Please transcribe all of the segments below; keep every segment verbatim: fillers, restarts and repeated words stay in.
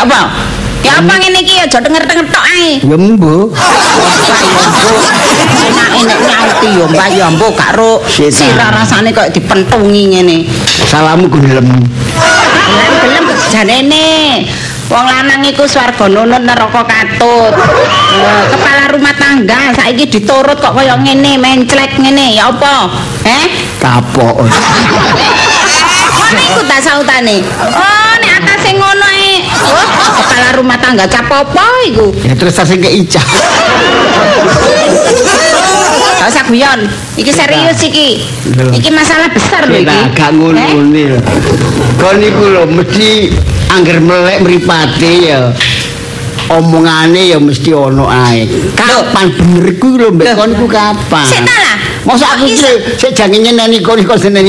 Ya apa? Ya apa ngene iki aja denger-denger tok ae. Ya mbo. Enak enek nyauti yo Mbak ya mbok gak ro. Sira rasane kok dipentungi ngene. Salamu gelem. Gelem janene. Wong lanang iku swarga nunut neraka katut. Kepala rumah tangga saiki diturut kok kaya ngene menclek ngene ya apa? Heh? Kapok. Ngono iku ta sautane. Oh nek atase ngono ae. Oh, kepala rumah tangga cap apa iku? Ya terus sing ke icah. Gak usah guyon. Iki serius iki. Iki masalah besar lho iki. Gak ngono-ngono. Kon iku lho mesti angger melek mripate ya. Omongane ya mesti ono ae. Kapan bener iku lho mbek kon iku kapan? Sik ta lah. Mosok aku iki sik jange nyeneni kon iku seneni.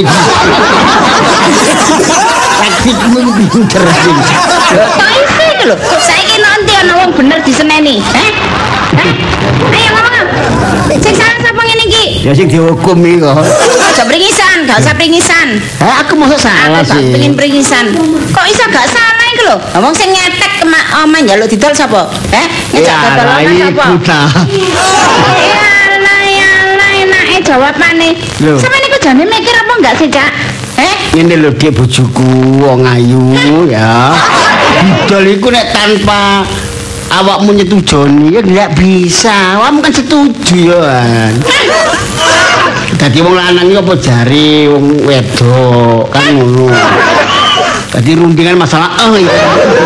Taktikmu pinter sih. Kok iso iki lho? Saiki nanti ana wong bener diseneni. Heh? Heh? Ayo ngomong. Sing salah sapa ngene iki? Ya sing dihukum iki kok. Aja pringisan, gak usah pringisan. Eh aku mosok salah Aku sih. tak pengen pringisan. Kok iso gak salah iki lho? Ngomong sing ngetek ke omah njaluk didol sapa? Heh? Ngejak dodol omah sapa? Ya Allah ya Allah enake jawabane. Sampe niku jane mikir apa enggak sih, Cak? Eh? Ngene lho Dik bojoku wong ayu ya. Didol iku nek tanpa awakmu nyetujoni ya nggak bisa. Awakmu kan setuju ya. Dadi wong lanang iki apa jare wong wedok kan ngono. Dadi rundingan masalah eh ya.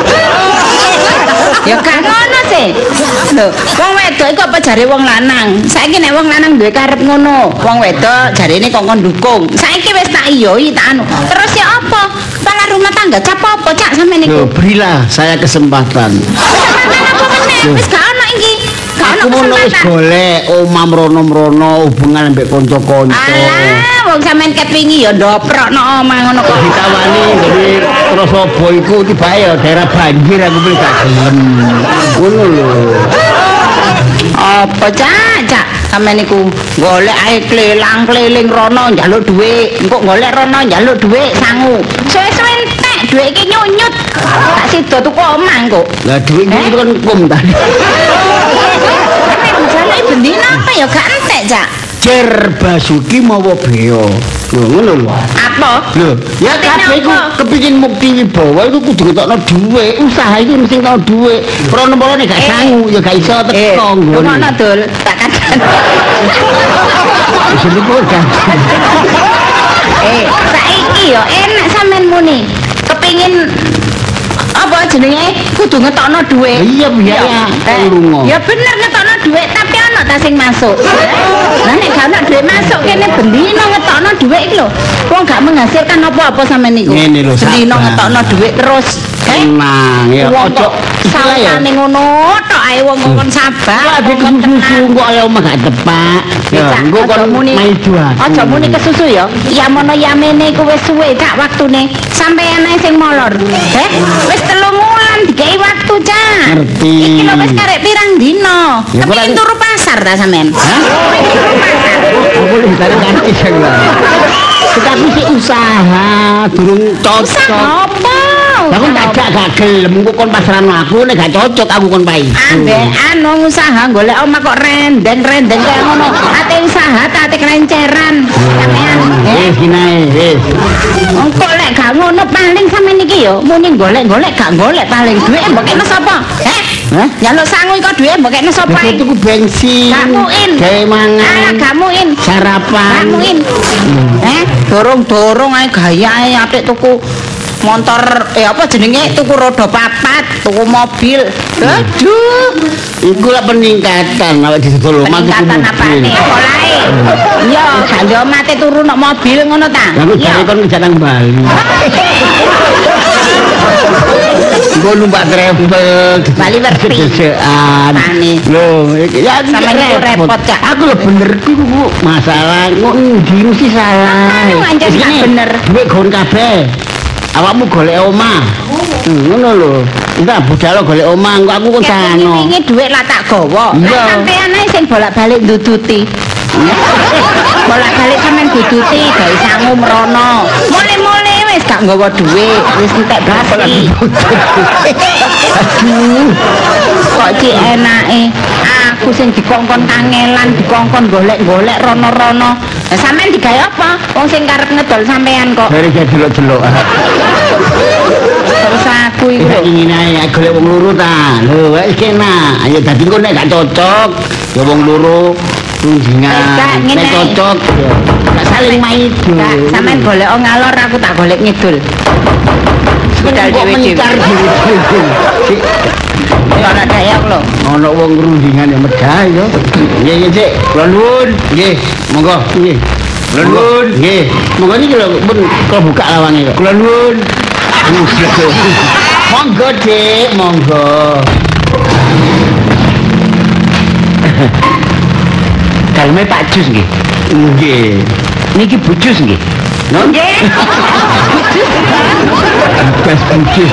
Ya gak ngono sih. Lho, wong wedok iku apa jare wong lanang? Saiki nek wong lanang duwe karep ngono, wong wedok jarene kok kon dukung. Saiki wis tak iyoi tak anu. Terus ya apa? Kepala rumah tangga cap apa, Cak sampean niku? Loh, berilah saya kesempatan. Kesempatan apa meneh? Wis gak ono iki. Gak ono Aku mau wis kesempatan. golek omah mrono-mrono hubungan ambek kanca-kanca. Alah, wong sampean kepingi ya ndoprokno omah ngono kok. Ditawani dari Trosobo iku tiba ya daerah banjir aku pilih gak gelem. Ngono lho. Apa Cak? Cak sampean niku golek ae klelang-kleling rono njaluk dhuwit. Engko golek rono njaluk dhuwit sangu. Suwe-suwe entek dhuwit iki nyunyut. Tak sida tuku omah engko. Lah dhuwit iki kan kum tadi. Jaluk bendina apa ya gak entek, Cak. Cer Basuki mawa beo. Lho ngono lho. Apa? Lho, ya kabeh iku kepengin mukti wibawa iku kudu ketokno dhuwit. Usaha iki mesti tau dhuwit. Prono-prono gak sangu ya gak iso teko ngono. Ngono dul, tak kandhani. Wis niku kan. Eh, saiki yo enak sampean muni. Kepengin apa jenenge kudu ngetokno dhuwit. Iya biaya lunga. Ya bener ngetokno dhuwit tapi ana ta sing masuk. Lah nek gak ana dhuwit masuk kene bendina ngetokno dhuwit iki lho. Wong gak menghasilkan apa-apa sampean niku. Ngene lho, bendina sabar. ngetokno dhuwit terus. Tenang ya ojo istilah ya. Salane ngono tok ae wong kon sabar. Adik susu kok ayo omah gak tepak. Ya engko kon main dua. Aja muni kesusu ya. Ya mono yamene iku wis suwe Cak waktune. Sampeyan ae sing molor. Heh, wis telung wulan dikai waktu, Cak. Ngerti. Iki lho wis karek pirang dino. Ya, Tapi kurang- turu pasar ta sampean? Hah? Turu pasar. Aku lebih dari nanti saya. Tetapi si usaha durung Usah cocok. apa? Aku tak gak gak gelem kok kon pasaran aku nek gak cocok aku kon pai. Ambek anu usaha golek omah kok renden-renden kaya ngono. Ate usaha ta ate kelenceran. Sampean. Wis kinae wis. Engko lek gak ngono paling sampean iki yo muni golek-golek gak golek paling dhuwit mbok kene sapa? Heh? Hah? Njaluk sangu iku dhuwit mbok kene sapa? Wis tuku bensin. Gak muin. Gawe Ah, mangan. gak muin. Sarapan. Gak muin. Eh, dorong-dorong ae gayae apik tuku motor eh apa jenenge tuku roda papat, tuku mobil. Aduh, Iku lah peningkatan awake didol omah tuku peningkatan apane? mobil. Polae. Iya, gak yo mate turu nok mobil ngono ta? Aku jare kon kerja nang Bali. Gue numpak travel Bali Werpi. Desean. Tani. Loh, iki ya Sampe niku repot, Cak. Aku lho bener ku Bu. Masalah kok ndi mesti salah. Anu anjen Wis gak gini, bener. Duit gon kabeh. Awakmu golek omah. Hmm, ngono lho. Entah budal golek omah, engko aku kon sano. Wingi dhuwit lah tak gawa. Iya. Lah sampean ae sing bolak-balik nduduti. Bolak-balik sampean duduti gawe sangu mrono. Mule-mule wis gak nggawa dhuwit, wis entek basi. Aduh. Kok cek enake aku sing dikongkon kangelan, dikongkon golek-golek rono-rono. Lah sampean digawe apa? Wong sing karep ngedol sampean kok. Dari jelok-jelok. Terus aku iku ingin ae golek wong loro ta. Lho, wis kena. Ayo dadi kok nek gak cocok, ya wong loro kunjingan. Nek cocok, gak saling maido. Sampeyan golek ngalor, aku tak golek ngidul. Budal dhewe-dhewe. Ora daya lho. Ono wong rundingan ya medhah ya. Nggih nggih Cik, kula nuwun. Nggih, monggo. Nggih. Kula nuwun. Nggih. Monggo niki lho pun kula buka lawange kok. Kula nuwun. Monggo Cik, monggo. Daleme Pak Jus nggih. Nggih. Niki Bu Jus nggih. Nggih. Bes bujus.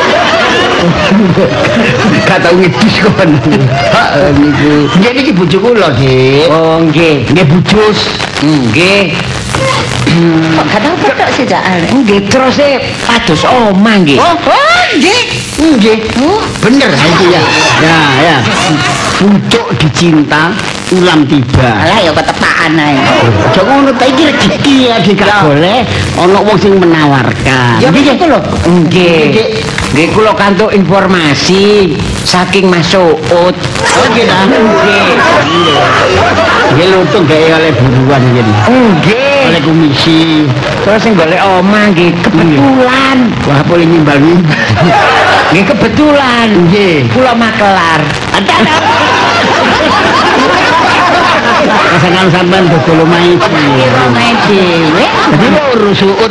Kata ngedis kon. Ha niku. Nggih niki bojo kula, Dik. Oh nggih. Nggih bujus. Nggih. Kok kadang petok sih Cak. Nggih terus e pados omah nggih. Oh, oh nggih. Nggih. Bener itu ya. Ya, ya. Pucuk dicinta, ulam tiba. Alah ya ketepaan ae. Aja ngono ta iki rezeki ya gak boleh ana wong sing menawarkan. Ya gitu lho. Nggih. Nggih kula kantuk informasi saking Mas Suud. Oh nggih ta. Nggih. Nggih lutung gawe oleh buruan ngene. Nggih. Oleh komisi. Terus sing golek omah nggih kebetulan. Wah boleh nimbal-nimbal. Nggih kebetulan. Nggih. Kula Makelar. Pasangan sampean dodol omahe Omahe dhewe. Jadi loro suut.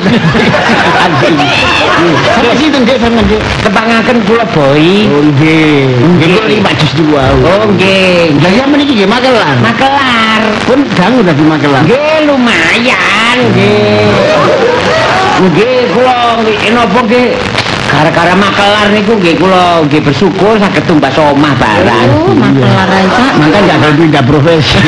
Sampai situ Dik sampean Dik. Kepangaken kula Boy. Oh nggih. Nggih kok lima jus dua. Oh nggih. Lah ya meniki nggih Magelang. Makelar. Pun dangu dadi Magelang. Nggih lumayan nggih. Nggih kula napa nggih gara-gara Makelar niku nggih kula nggih bersyukur saged tumbas omah barang. Oh, Makelar ae Cak. Mangka jangan pindah profesi.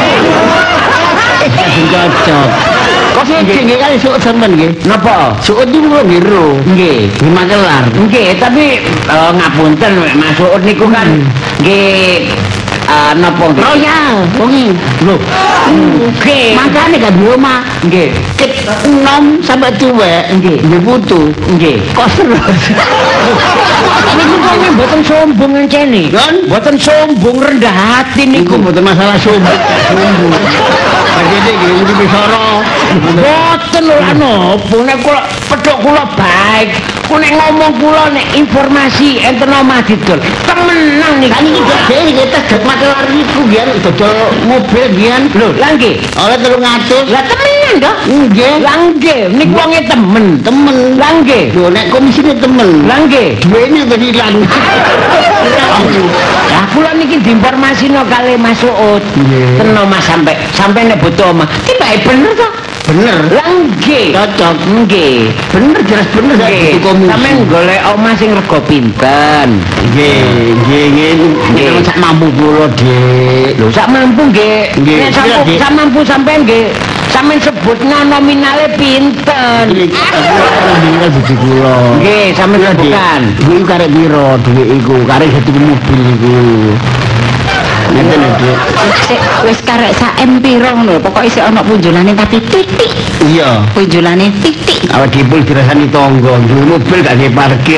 Cocok. Kok sih nggih kali suut sampean nggih. Napa? Suut niku kula biru. Nggih. Di Magelang. Nggih, tapi eh, ngapunten Mas Suud niku kan nggih eh, napa nggih? Royal, wengi. Lho. Nggih. Makane gak di omah. Nggih. Ket enom sampai tuwek. Nggih. Nggih putu. Nggih. Kos terus. Niku kok mboten sombong ngene. Kan? Mboten sombong rendah hati Niku niku. mboten masalah sombong. Sombong. Jadi nggih iki bisara. Mboten lho napa nek kula pedhok kula baik. Ku nek ngomong kula nek informasi enten omah didol. Temenan niku. Kan iki dhewe iki tegak Magelang niku nggih dodol mobil nggih. Lho, lah nggih. Oleh telung atus. Lah temenan to? Nggih. Lah nggih, niku wonge temen. Temen. Lah nggih. Lho nek komisine temen. Lah nggih. Duwene wis ilang. Lah kula niki diinformasino kali Mas Suud. Nggih. Ten omah sampe sampe nek butuh omah. Tibake bener to? Bener. Lah nggih. Cocok. Nggih. Bener jelas bener Nggih. Sampeyan golek omah sing rega pinten? Nggih, nggih, nggih. Nggih. Nggih, sak mampu kula, Dik. Lho sak mampu nggih. Nggih, Nek sak iya, Dik. sak mampu sampean nggih. Sampeyan sebutna nominale pinten? Iki aku bojo kula. Nggih, sampeyan Iya, Dik. bukan. Iku karek piro dhuwit iku? Karek satu mobil iku. Ngeten lho, Dik. Sik wis karek sak M piro ngono, pokoke isih ana punjulane tapi titik. Iya. Punjulane titik. Awak dipul dirasani tangga, duwe mobil gak nggih parkir.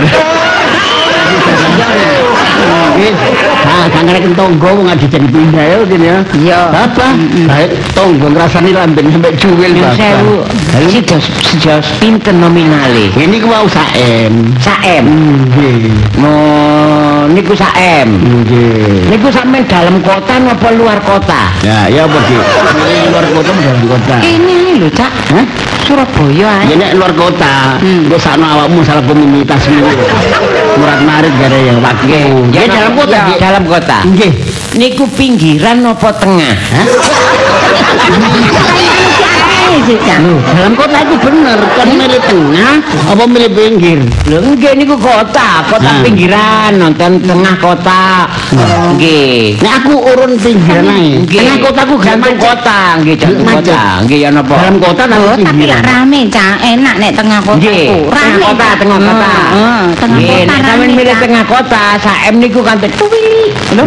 Nggih. Ah, kan karek tangga wong adi jadi pindah ya kene ya. Iya. Apa? Baik tangga ngrasani lamben sampai cuwil Yang Bapak. sewu. Sejos sejos pinten nominale? Ini ku mau sak M. Sak M. Nggih. Oh, niku sak M. Nggih. Niku sampean dalam kota napa luar kota? Ya, ya apa Dik? Ini luar kota dalam kota. Ini lho Cak. Hah? Surabaya ae. Ya nek luar kota, engko sakno awakmu salah komunitasmu. Murat marit gare ya waktu. Ya dalam kota, Ya, Dik. dalam kota. Nggih. Niku pinggiran napa tengah? Hah? sih, Cak? Loh, dalam kota itu bener, kan milih tengah apa milih pinggir? Lho nggih niku kota, kota Nah. pinggiran, nonton tengah kota. Nggih. Nek aku urun pinggiran ae. Nggih. Tengah kotaku jantung kota, nggih jantung Macet. kota. Nggih ya napa? Dalam kota Oh, tapi tapi pinggiran. lak rame, Cak. Enak nek tengah kota. Nggih, ku. tengah Rame. kota, Cak. tengah kota. Heeh, tengah Nggih, kota. nek sampeyan rame, milih Cak. tengah kota, saem niku kan tuwili. Lho.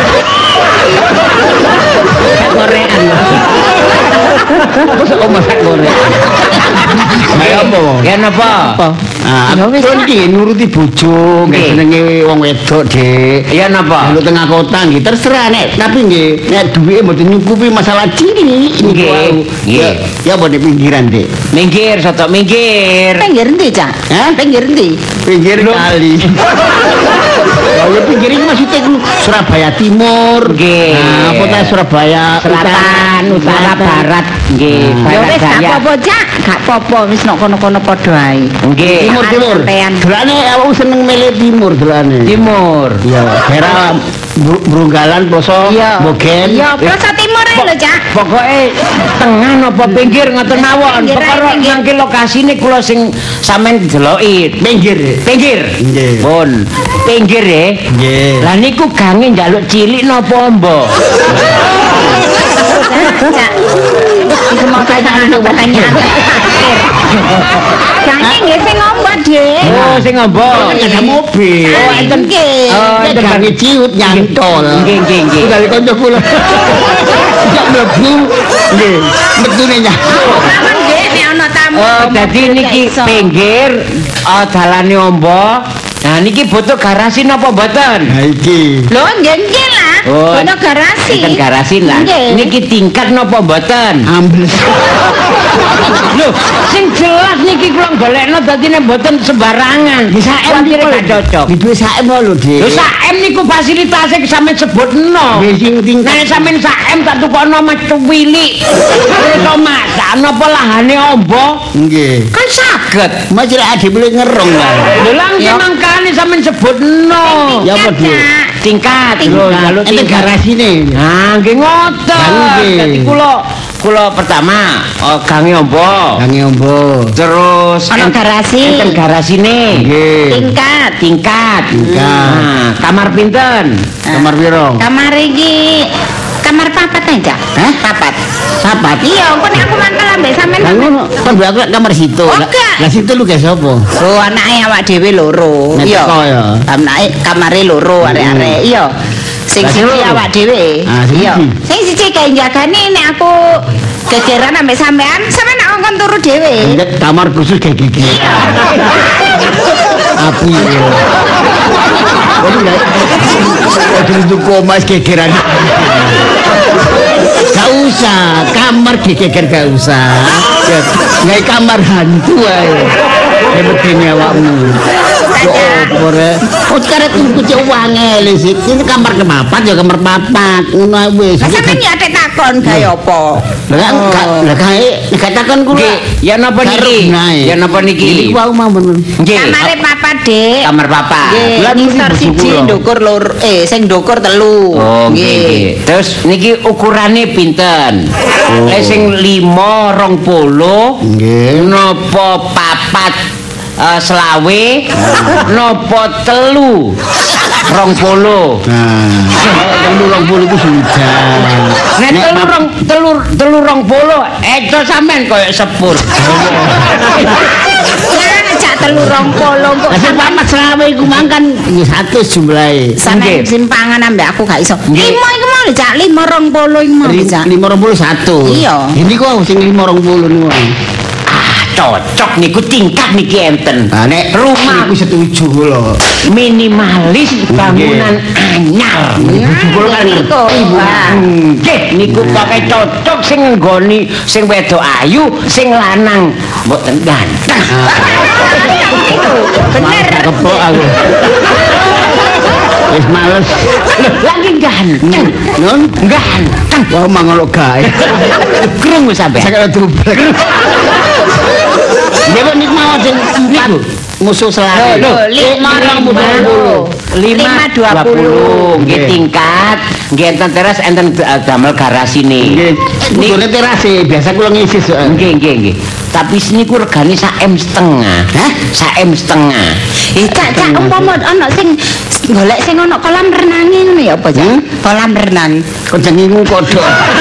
Korean. Terus kok masak goreng. Kayak apa? Ya napa? Ah, Ya wis, aku Cak. iki nuruti bojo, nggih Nggih. senenge wong wedok, Dik. Ya napa? Kalau tengah kota nggih terserah nek, tapi nggih nek duwike mboten nyukupi masalah cilik ini Nggih, wau. nggih. Ya, ya apa di pinggiran, Dik? Minggir, soto minggir. Pinggir ndi, Cak? Hah? Pinggir ndi? Pinggir kali. Oh, ya pinggir ini maksudnya ku Surabaya Timur. Nggih. Nah, apa ta Surabaya Selatan, utara, barat. Nggih, Ya barat wis gak daya. apa-apa, Cak. Gak apa-apa, wis nok kono-kono padha ae. Nggih. Timur Timur. Sampean. Delane aku seneng milih Timur delane. Timur. Iya, daerah Bru- Brunggalan, Ploso, Iya. Bogen. Iya, Ploso Timur ae lho, Cak. Pokoknya tengah napa pinggir ngoten mawon. Pinggir ae, Perkara pinggir. mangke lokasine kula sing sampean deloki. Pinggir. Pinggir. Nggih. Pun pinggir ya. Nggih. Lah niku gange njaluk cilik napa mbok? Cak. Iku mau pertanyaan pertanyaan. Jangan nggih sing ngomong, Dik. Oh, sing mbok. Kan ada mobil. Oh, enten. Nggih. Oh, Kita enten gangi ciut nyantol. Nggih, nggih, nggih. Dari kanca kula. Jak mlebu nggih, metune nyantol. Aman nggih nek ana tamu. Oh, dadi mobil niki gak iso. pinggir oh dalane ombo. Nah niki butuh garasi napa mboten? Nah iki. Lho, nggih nggih lah. Oh, Ono garasi. Enten garasi lah. Nggih. Niki tingkat napa mboten? Ambles. Lho, sing jelas niki kula golekno dadine mboten sembarangan. Di saem Kuwatir niku gak cocok. Di duwe saem lho, Dik. Lho saem niku fasilitasnya sampean sebutno. Nggih sing tingkat. Nek sampean saem tak tukono metu wilik. Iso masak napa lahane ombo? Nggih. Kan saged. Mas lek ade boleh ngerong lah. Lho lah nggih mangkane sampean sebutno. Ya apa, Dik? Tingkat. Lho jaluk Enten tingkat. garasine. Nah, nggih ngoten. Nggih. Dadi kula kula pertama oh, gange ombo. Gangi ombo. Terus Ono ent- garasi. enten garasine. Nggih. Tingkat. Tingkat. Tingkat. Nah, kamar pinten? Kamar piro? Kamar iki kamar papat aja. Hah? Papat. Sapat. Iya, engko nek aku mangkel ambek sampean. Lah ngono, kan mbak aku kamar situ. Oh, Lah enggak. lah situ lu ge sapa? Oh, anake awak dhewe loro. Nek Iya. teko ya. Anake kamare loro arek-arek. Iya. Sing Lah, sing siji loro? awak dhewe. Ah, sing Iya. siji. Sing siji kae jagane nek aku gegeran ambek sampean, sampean nak ngkon turu dhewe. Nek kamar khusus kayak gigi. Api. Waduh enggak. Waduh itu komas gegeran. Gak usah, kamar geger gak usah. Ya, nggak kamar hantu ae. Hebetene awakmu. Yo opo re? Oh karek tuku cek wangel sih. Ini kamar kepapat ya kamar papat. Ngono ae wis. Lah sampean ya atek takon gawe apa? Lah enggak, lah kae nek takon kula. Nggih, ya napa niki? Ya napa niki? Iki wau mawon. Nggih. Kamare papat, Dik. Kamar papa. Nggih, Lah, niki ngisor bojo siji, kula. ndukur loro, eh sing ndukur telu. Oh, nggih. nggih. Terus niki ukurane pinten? Lek sing lima rong puluh Nggih. napa papat eh, selawe napa telu rong puluh. Nah, telu rong puluh itu sudah. Nek telu rong telu telu rong puluh eco sampean koyo sepur. Lah cak telu rong puluh kok Lah sing papat selawe iku mangkan ya satu jumlahe. sampe Nggih. simpangan ambek aku gak iso. Nggih. Lima iku mau lho, cak lima rong puluh iku mau lho, cak. lima rong puluh satu. Iya. Ini kok sing lima rong puluh niku. Ah, cocok niku tingkat niki enten. Nah, nek Rumah iku setuju kula. minimalis bangunan anyar. Kula kan Iku. Wah. Nggih, niku pakai cocok sing nggoni sing wedok ayu, sing lanang mboten ganteng. Bener. Kepok aku. Wis males. Lagi ganteng. Nun, Ganteng. wah mangolo gae. Krungu sampean. Saya dublek. Dewe nik mau sing niku musuh selawe. Lho, lima rong puluh. lima dua puluh nggih tingkat nggih enten teras enten damel garasine nggih nggone terase biasa kula ngisi nggih nggih nggih tapi niku regane sak em setengah hah sak em setengah eh cak cak umpama ana sing golek sing ana kolam renang ngono ya apa cak kolam renang kok jenengmu kodhok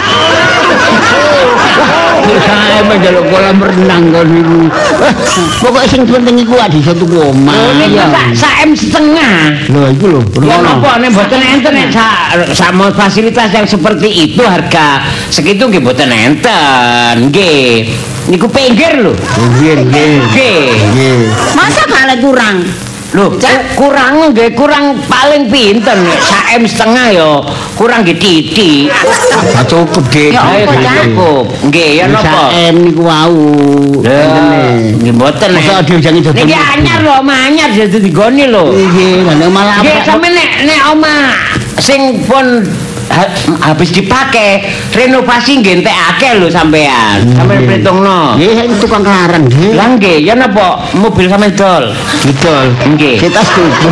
saya menjaluk kolam renang kon niku. Pokoke sing penting iku adi satu omah. Niku sak em setengah. Lho iku lho. Ya napa nek mboten enten nek sama fasilitas yang seperti itu harga segitu nggih mboten enten. Nggih. Niku pinggir lho. Nggih nggih. Nggih. Masa gak kurang? Loh, kurang nggih kurang paling pinten sak em setengah ya kurang nggih titik. Ah cukup Dik. Ya apa cukup. Nggih ya napa? sak em niku wau. Nggih mboten. Masa diujangi dodol. Niki anyar lho, omah anyar dadi digoni lho. Nggih, lha malah nggih sampe nek nek omah sing pun habis dipakai renovasi nggih entekake lho sampean. Sampeyan perhitungno. Nggih tukang larang nggih. Lah nggih, ya napa mobil sampean dol? Didol. Nggih. Kita setuju.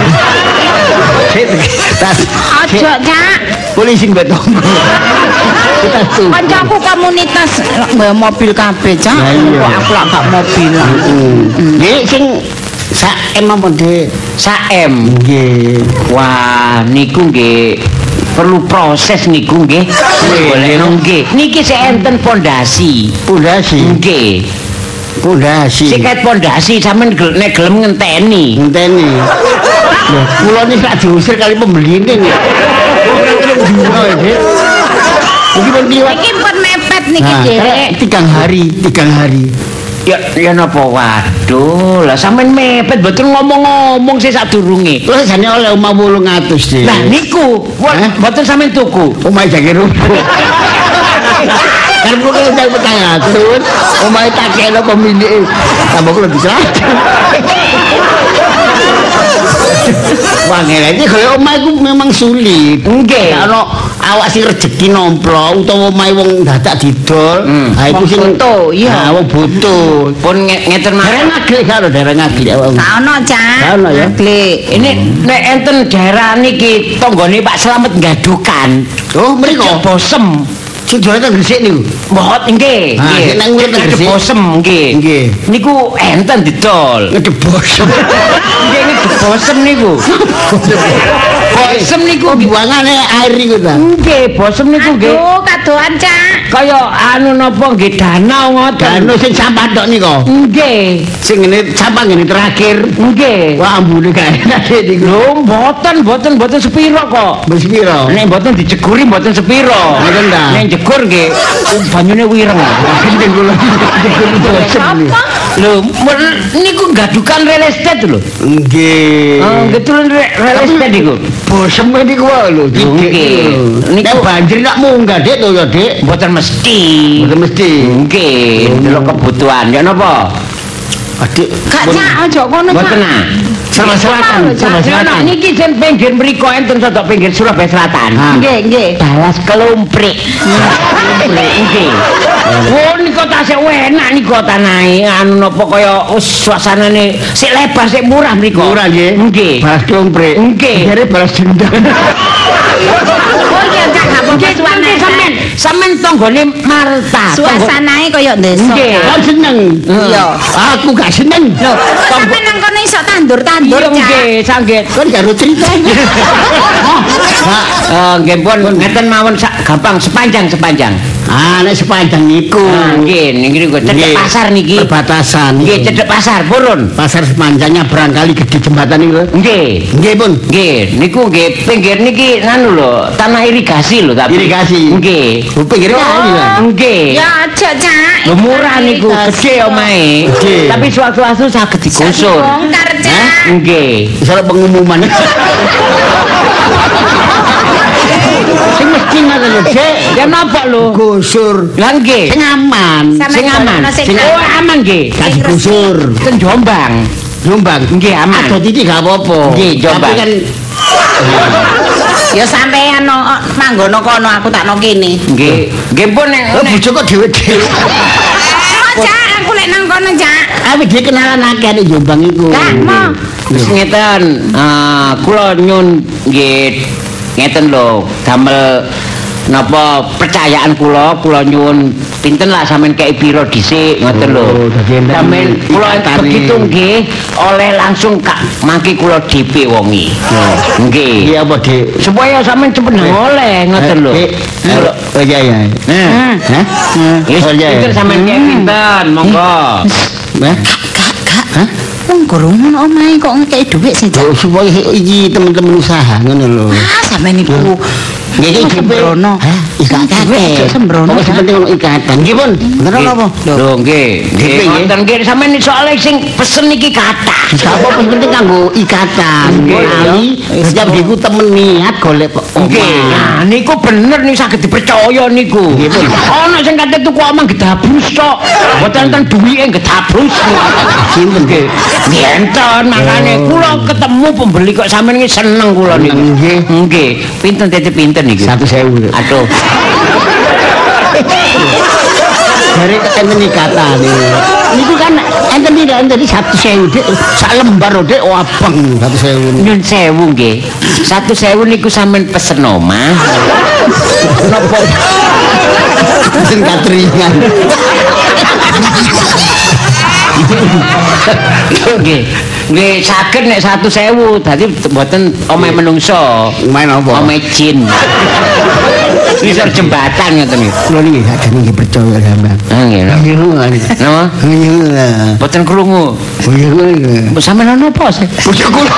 Tas. Aja, Cak. Polisi betul. Kita setuju. Kancaku komunitas mbak mobil kabeh, Cak. Kok aku lak gak mobil. Nggih sing sak em apa Dik? sak em. Nggih. Wah, niku nggih perlu proses niku nggih. Boleh nggih. Niki sik enten pondasi. Pondasi. Nggih. Pondasi. Sik ket pondasi sampean nek gelem ngenteni. Ngenteni. Lho, kula niki sak diusir kali pembeline nggih. Ora kena dino iki. Iki pun liwat. Iki pun mepet niki Dik. Tigang hari, tigang hari. Ya ya napa waduh lah sampean mepet mboten ngomong-ngomong sih sadurunge. Terus jane oleh omah wolung atus Dik. Lah niku mboten sampean tuku. Omah jage rubuh. Kan kula udah petang atus, omah tak kena pemilik. Tambah kula dicerat. Wah ngene iki kaya omah iku memang sulit. Nggih. Ana awak sing rejeki nomplo utawa omahe wong dadak didol, ha iku sing butuh, iya. Ha wong butuh. Pun ngeten mawon. Dereng ngaglik karo dereng ngaglik awak. Gak ono, Cak. Gak ono ya. Ngaglik. Ini nek enten daerah niki tanggane Pak Slamet Gadukan. Oh, mriko Bosem. sing jualan teng Gresik niku. Mbot nggih, Ah, nggih. nek urip teng Gresik. Bosem nggih. Nggih. Niku enten didol. Ngedebos. Nggih niku bosem niku. Bosem niku Buangane air niku ta. nggih, bosem niku nggih. Aduh, kadoan, Cak. Kaya anu napa nggih danau ngoten. Danau sing sampah tok nika. Nggih. Sing ngene sampah ngene terakhir. Nggih. Wah ambune gak enak niku. Lho, mboten, mboten, mboten sepiro kok. Wis piro? Nek mboten dijeguri mboten sepiro. Ngoten ta? Nek jegur nggih banyune wireng. Gendeng kula. Apa? Lho, men- niku gadukan real estate lho. Nggih. Oh, betul real estate niku. Bosem niku wae lho. Nggih. Nek Niku banjir nak munggah Dik to ya Dik. mboten mesti. Mboten mesti. Nggih, delok kebutuhan. Ya napa? Adik, Gak, Cak, aja kono, Cak. Mboten ah. Sama selatan, sama Ya selatan. niki jen pinggir mriku enten sodok pinggir Surabaya Selatan. Ah. Nggih, nggih. Balas kelumprik. Nggih. Oh niku tasih enak niku tanahe anu napa kaya wis suasanane sik lebar sik murah mriku. Murah nggih. Nggih. Balas dompret. Nggih. Jare balas dendam. Oh iya, Cak, gak apa-apa Nggih suasana. sampean sampean tanggane Marta. Suasanae kaya desa. Nggih. Kau seneng? Iya. Aku gak seneng. Loh, sampe nang kono iso tandur-tandur, Iya Cak. nggih, sanggit. Kan gak ada ceritanya. Eh nggih pun ngeten mawon sak gampang sepanjang sepanjang. Ah, nek sepanjang niku. Ah, nggih niki niku cedek Nggih. pasar niki. Perbatasan. Nggih cedek pasar purun. Pasar sepanjangnya barangkali gede jembatan niku. Nggih. Nggih pun. Nggih, niku nggih pinggir niki anu lho, tanah irigasi lho tapi. Irigasi. Nggih. Oh, pinggir kali lah. Nggih. Ya aja, Cak. Lho murah niku, gede omahe. Gede. Tapi suatu-suatu saged digusur. Bongkar, Cak. Nggih. Misalnya pengumuman. Sing mesti ngoten lho, Dik. Ya napa lho? Gusur. Lah nggih. Sing aman. Sampe Sing aman. kono sing Sing aman. oh aman nggih. Gak digusur. Ten Jombang. Jombang. Nggih aman. Ada titik gak apa-apa. Nggih, Jombang. Tapi kan Ya sampean no manggono kono aku tak no kene. Nggih. Nggih pun nek oh, bojo kok dhewe-dhewe. Oh, Cak, aku lek lek nang kono, Cak. Awit dhewe kenalan akeh nek Jombang iku. Lah, mo. Wis ngeten, eh kula nyun nggih ngeten lho, damel napa percayaan kula, kula nyuwun pinten lah sampean kei pira dhisik ngoten lho. Sampeyan kula begitu nggih oleh langsung kak mangke kula D P wongi. Nggih. Iya apa, Dik? Supaya sampean cepet oleh ngoten lho. Oh iya iya. Nah. Hah? Wis pinten sampean kei pinten, monggo. Hah? Kak, Kak. Hah? Wong gorong ngono omahe kok ngekeki dhuwit sih, Cak. Oh, supaya iki teman-teman usaha ngono lho. Ah, sampean niku Nggih iki sembrono. Hah? Ikatan. Sembrono. Pokoknya penting ono ikatan. Nggih, Pun. Bener napa? Lho nggih. Nggih wonten nggih sampeyan soalé sing pesen iki kathah. Sapa penting kanggo ikatan. Ali setiap diku temen niat golek Nggih. Nah niku bener nih saged dipercaya niku. Nggih, Pun. Ana sing kate tuku omong gedabrus tok. Mboten enten duwike gedabrus. Sinten nggih? Enten makane kula ketemu pembeli kok sampeyan iki seneng kula niku. Nggih. Nggih. Pinten titip pinten niku? satu sewu. Aduh. Dari enten ikatan niku kan enten tidak enten satu sewu Dik. Sak lembar lho Dik, abang satu sewu. Nyun sewu nggih. Satu sewu niku sampean pesen omah. Napa? Pesen katringan. Nggih. Nggih saged nek satu sewu dadi mboten omahe menungso. Main apa? Omahe jin. Bisa jembatan ngoten niku. Kula niki sakjane nggih percaya sampean. Ah nggih. Napa? Iya. Mboten krungu. Oh iya. Sampeyan napa sih? Bojo kula.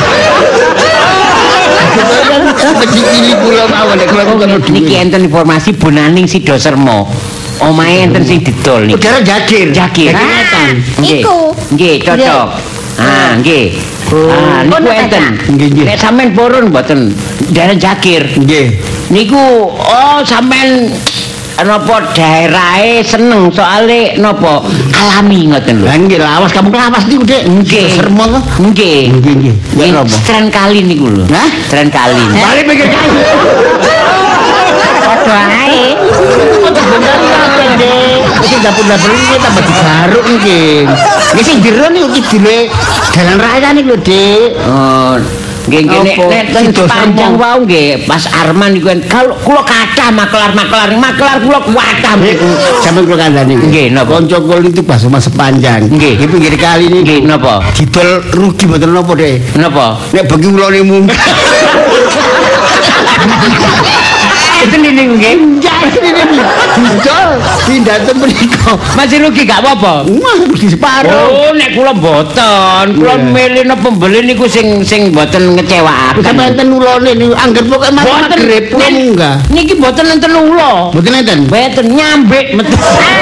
Becik kula mawon nek kula kono Niki enten informasi Bonaning Sidosermo. Omahe enten sing didol niki. Udara Jagir. Jagir. Nggih. Iku. Nggih, cocok. Ah, nggih. Ah, niku enten. Nggih, nggih. Nek sampean purun mboten daerah Jagir. Nggih. Niku oh sampean napa daerahe seneng soalé napa alami ngoten lho. Lah nggih lawas kamu lawas niku Dik. Nggih. Sermo to. Nggih. Nggih nggih. Ya Nggih, napa? Stren kali niku lho. Hah? Stren kali. Bali pikir kali. Padha ae. Iki dapur-dapur iki tambah digaruk nggih. Nggih sing jero niku kidule dalan raya niku lho Dik. Oh, nggih nggih nek Apa? nek ten Sido panjang Sermo. wau nggih pas Arman niku kan kalau kula kathah makelar-makelar makelar kula kuatah niku. Sampeyan kula kandhani. Nggih, napa? Kanca kula itu bahasa mas sepanjang. Nggih. Di pinggir kali niku. Nggih napa? Didol rugi mboten napa Dik. Napa? Nek bagi ulone munggah. Itu niku nggih. Didol pindah ten mriko. Masih rugi gak apa-apa. Wah, rugi separuh. Oh, nek kula mboten, kula Iya. milih no pembeli niku sing sing mboten ngecewaken. Sampai enten ulone niku angger pokoke mas Mboten. magrib kula Nen- munggah. Niki mboten enten ula. Mboten enten. Mboten nyambik metu.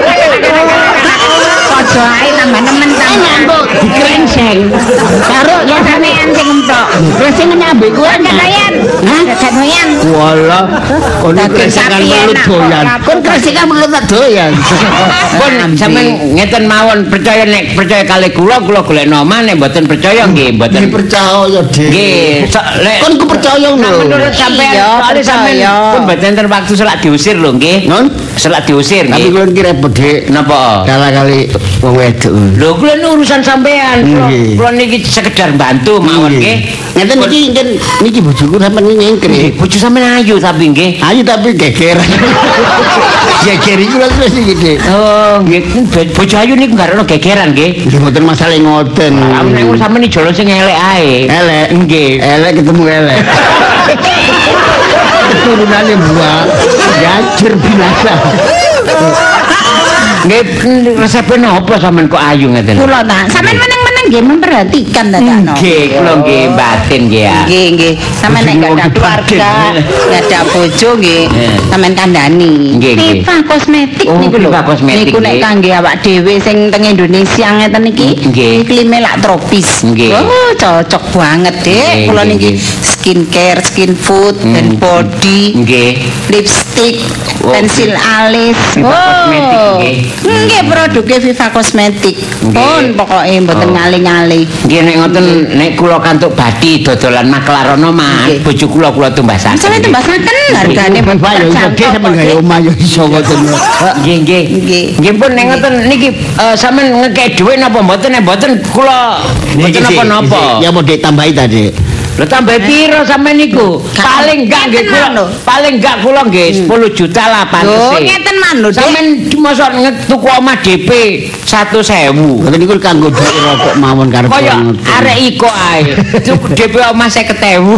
Padha ae tambah nemen tambah. Dikrengseng. Karo ya sampean sing entok. Wis sing nyambe kuwi. Doyan. Hah? Doyan. Walah, kon kresekan melut doyan. Kon kresekan melut tak doyan. Pun sampean ngeten mawon percaya nek percaya kali kula kula golek omah nek mboten percaya nggih mboten. Iki percaya, Dik. Nggih, so, lek Kon ku percaya Nah, lho. menurut sampean Iya, soalnya sampean percaya. pun mboten enten waktu selak diusir lho nggih. Non? Selak diusir Tapi nggih. kula iki repot, Dik. Napa? Kala-kali wong wedok. Lho kula ini urusan sampean. Kula Nggih. kula niki sekedar bantu mawon nggih. Ngeten niki ngen niki bojoku sampean nyengkre. Nggih, bojo sampean ayu tapi nggih. Ayo tapi gegeran. Geger iku lho terus iki, Dik. Oh, nggih bojo ayu niku gak ono gegeran nggih. Nggih mboten masalah ngoten. Amun nek sampean iki jolo sing elek ae. Elek. Nggih. Elek ketemu elek. Keturunannya buah gajir binasa. Nggih resepnya apa sampean kok ayu ngeten? Kula ta. Sampean meneng-meneng nggih memperhatikan ta Cak. Nggih, kula nggih batin nggih ya. Nggih, nggih. Sampeyan nek gak ada keluarga, gak ada bojo nggih, Eh. sampeyan kandhani. Nggih, nggih. Viva kosmetik Oh, niku lho. Viva Kosmetik, Niku nek nggih. kangge awak dhewe sing teng Indonesia ngeten iki, Nggih. iklime lak tropis. Nggih. Oh, cocok banget, Dik. Nggih, Kula nggih, niki nggih. skincare, skin food, Hmm. dan body, Nggih. lipstick, Oh, pensil alis. Viva Kosmetik, nggih. Nggih, produknya Viva Kosmetik. Nggih. Pun pokoke mboten Oh. ngalih nyale-nyale. Nggih nek ngoten nek kula kantuk bathi dodolan maklarono mah bojo kula kula tumbasaken. Sampe tumbasaken hargane ben bae yo gede sampean gawe omah yo iso ngoten. Nggih nggih. Nggih pun nek ngoten niki sampean ngekek dhuwit napa mboten nek mboten kula mboten napa-napa. Ya mau ditambahi tadi. Lho tambah piro sampean niku? Paling enggak nggih kula. Paling enggak kula nggih sepuluh juta lah pantese. Lho ngeten man lho. Sampeyan mosok tuku omah D P seratus ribu. Ngoten niku kanggo dhuwit rokok mawon karep. Kaya arek iko ae. D P omah seket ribu.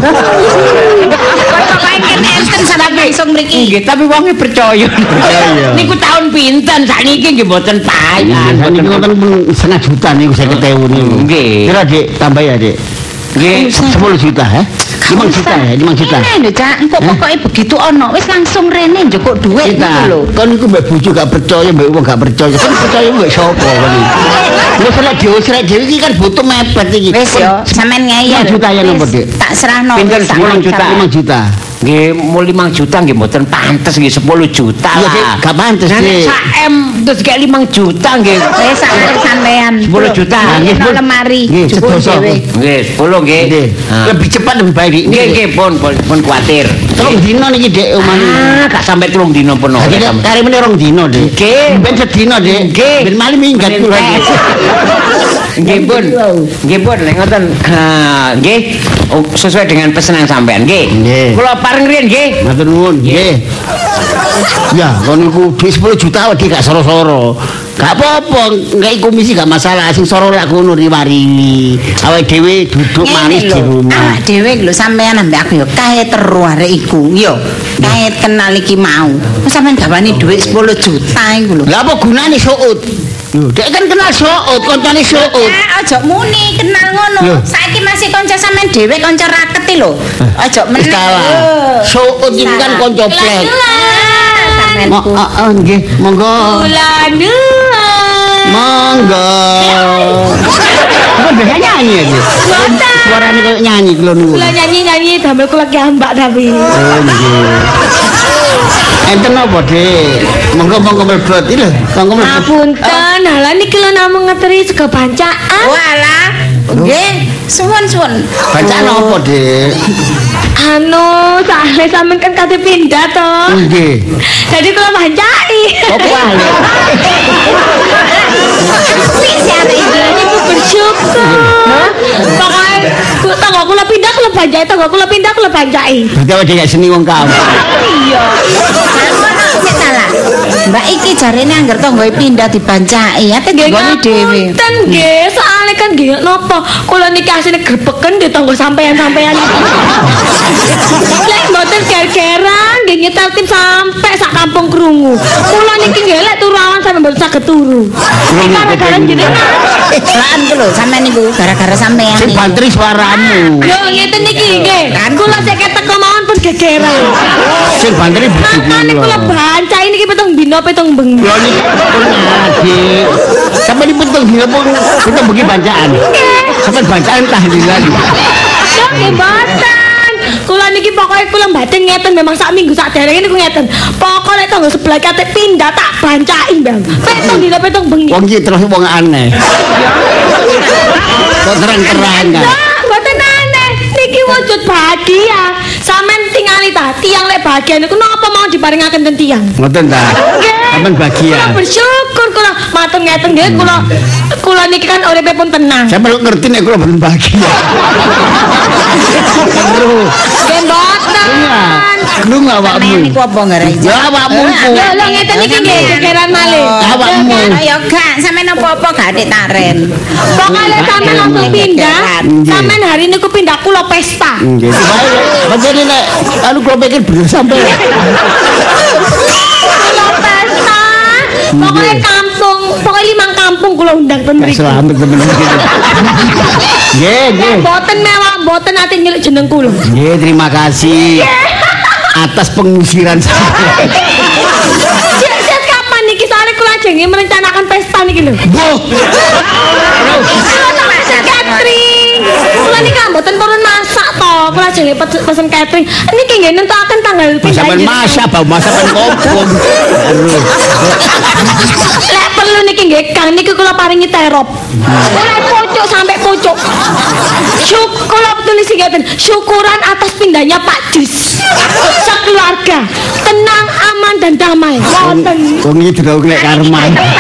Kok kae kene enten sampe iso mriki. Nggih, tapi wonge percaya. Niku tahun pinten sakniki nggih mboten payah. Niku ngoten setengah juta niku seket ribu niku. Nggih. Kira Dik tambah ya Dik. Nggih, sepuluh juta ya. lima juta ya, lima juta. Ini lho, Cak, kok pokoke begitu ono, wis langsung rene njukuk dhuwit gitu lho. Kan niku mbek bojo gak percaya, mbek wong gak percaya. Kan percaya mbek sapa kan. Wis lek dhewe srek dhewe iki kan butuh mepet iki. Wis yo, sampean ngeyel. lima juta ya nopo, Dik? Tak serahno. Pinten sepuluh juta. lima juta. Nggih, mau lima juta nggih mboten pantes nggih sepuluh juta Iya, Dik, lah. gak pantes, Nek Dik. sak M terus kayak lima juta nggih. Wis sak sampean. sepuluh juta. Nggih, nang lemari. Nggih, Jupuk sedoso. dhewe. Nggih, sepuluh nggih. Nggih. Ah. Lebih cepat lebih baik, Dik. Nggih, nggih, pun pun pun kuwatir. Telung dino niki Dik omah niku. Ah, gak sampai telung dino pun oleh. Jadi kari meneh rong dino, Dik. Nggih. Ben sedino, Dik. Nggih. Ben mali minggat kula iki. Nggih pun. Nggih pun nek ngoten. Ha, nggih. Oh, sesuai dengan pesanan sampean nggih. Nggih. Kula pareng riyen nggih. Matur nuwun, nggih. Ya, kon niku dhuwit sepuluh juta wedi gak soro-soro. Gak apa-apa, enggak komisi gak masalah. Sing soro lak ngono riwari. Awake dhewe duduk manis di rumah. Awak dhewe lho sampean ambek aku yo kae teru arek iku. Yo, kae kenal iki mau. Kok sampean gawani dhuwit sepuluh juta iku lho. Lah apa gunane suut? Lho, dek kan kenal suut, koncane suut. Eh, aja muni kenal ngono. Loh. Saiki masih kanca sampean dhewe kanca raket lho. Aja Wis meneh. kalah. Suut iki kan kanca plek. Mo, Sampeanku. heeh nggih, monggo. Ulanu. Monggo. Kok bisa nyanyi ya? Suarane kok nyanyi kula niku. Kula nyanyi-nyanyi damel kula kiambak tapi. Oh nggih. Enten apa, Dik? Monggo-monggo mlebet iki lho. Monggo mlebet. Apunten, halah niki lho namung ngeteri sego bancaan. Walah. Nggih, suwun-suwun. Bacaan apa, Dik? Anu, soalnya sampean kan kate pindah to. Nggih. Jadi kula bancai. Apa wae? Wis ya arek iki. Iku bersyukur. Pokoknya kula tangga kula pindah kula bancai, tangga kula pindah kula bancai. Berarti awake gak seni wong kamu. Iya. Sik salah. Mbak iki jarene angger tanggoe pindah dibancaki, ate nggone dhewe. Ten nggih, soalnya kan nggih napa kula niki asline grebeken di tangga sampean-sampean. Lek mboten ger-geran nggih nyetel tim sampai sak kampung krungu. Kula niki nggih lek turu awan sampe mboten saged turu. Iki gara-gara jenengan. Lan ku lho sampean niku gara-gara sampean. Sing bantri suaramu. Yo ngeten niki nggih. Kula sik teko mawon pun gegeran. Sing bantri bojoku. Makane kula bancai niki peteng dina peteng bengi. Lho niki pun ngaji. Sampai di pentung dina pun kita bagi bacaan. Sampai bacaan tahlilan. Yo nggih mboten. Kula niki pokoke kula mbaten ngeten memang sak minggu sak derenge niku ngeten. Pokoke nek tangga sebelah kate pindah tak bancai, Bang. Peteng dina peteng bengi. Wong iki terus wong aneh. Kok terang-terangan. Lah, mboten aneh. Niki wujud bahagia. Sampeyan tingali ta, tiang lek bahagia niku napa mau diparingaken ten tiang? Ngoten ta. Sampeyan bahagia. Kula bersyukur kula matur ngeten nggih kula kula niki kan uripe pun tenang. Sampeyan ngerti nek kula boten bahagia. Terus. Nggih mboten. Lu awakmu. Sampean niku apa gara iki? Ya awakmu iku. Lho lho ngeten iki nggih gegeran malih. Awakmu. Ya gak, sampean apa-apa gak atik taren. Pokoknya sampean langsung pindah. Sampean hari niku pindah kula pesta. Nggih. Pancen nek anu kula pikir bener sampeyan. Kula pesta. Pokoknya kampung, pokoknya limang kampung kula undang ten mriki. Selamat temen iki. Nggih, nggih. Mboten mewah, mboten ate nyeluk jeneng kula. Nggih, terima kasih atas pengusiran saya. Siap-siap kapan niki soalnya kula jenenge merencanakan pesta niki lho. Boh. Kula tak pesen catering. Kula niki mboten purun masak to. Kula jenenge pesen catering. Niki nggih nentukaken tanggal pindah. Sampeyan masak bau masak ben kopong. Aduh. Lek perlu niki nggih Kang niki kula paringi terop. Oleh pucuk sampai pucuk. Syukur tulis ngeten, syukuran atas pindahnya Pak Jus. Sekeluarga tenang, aman dan damai. Wonten. Wong iki durung nek karma.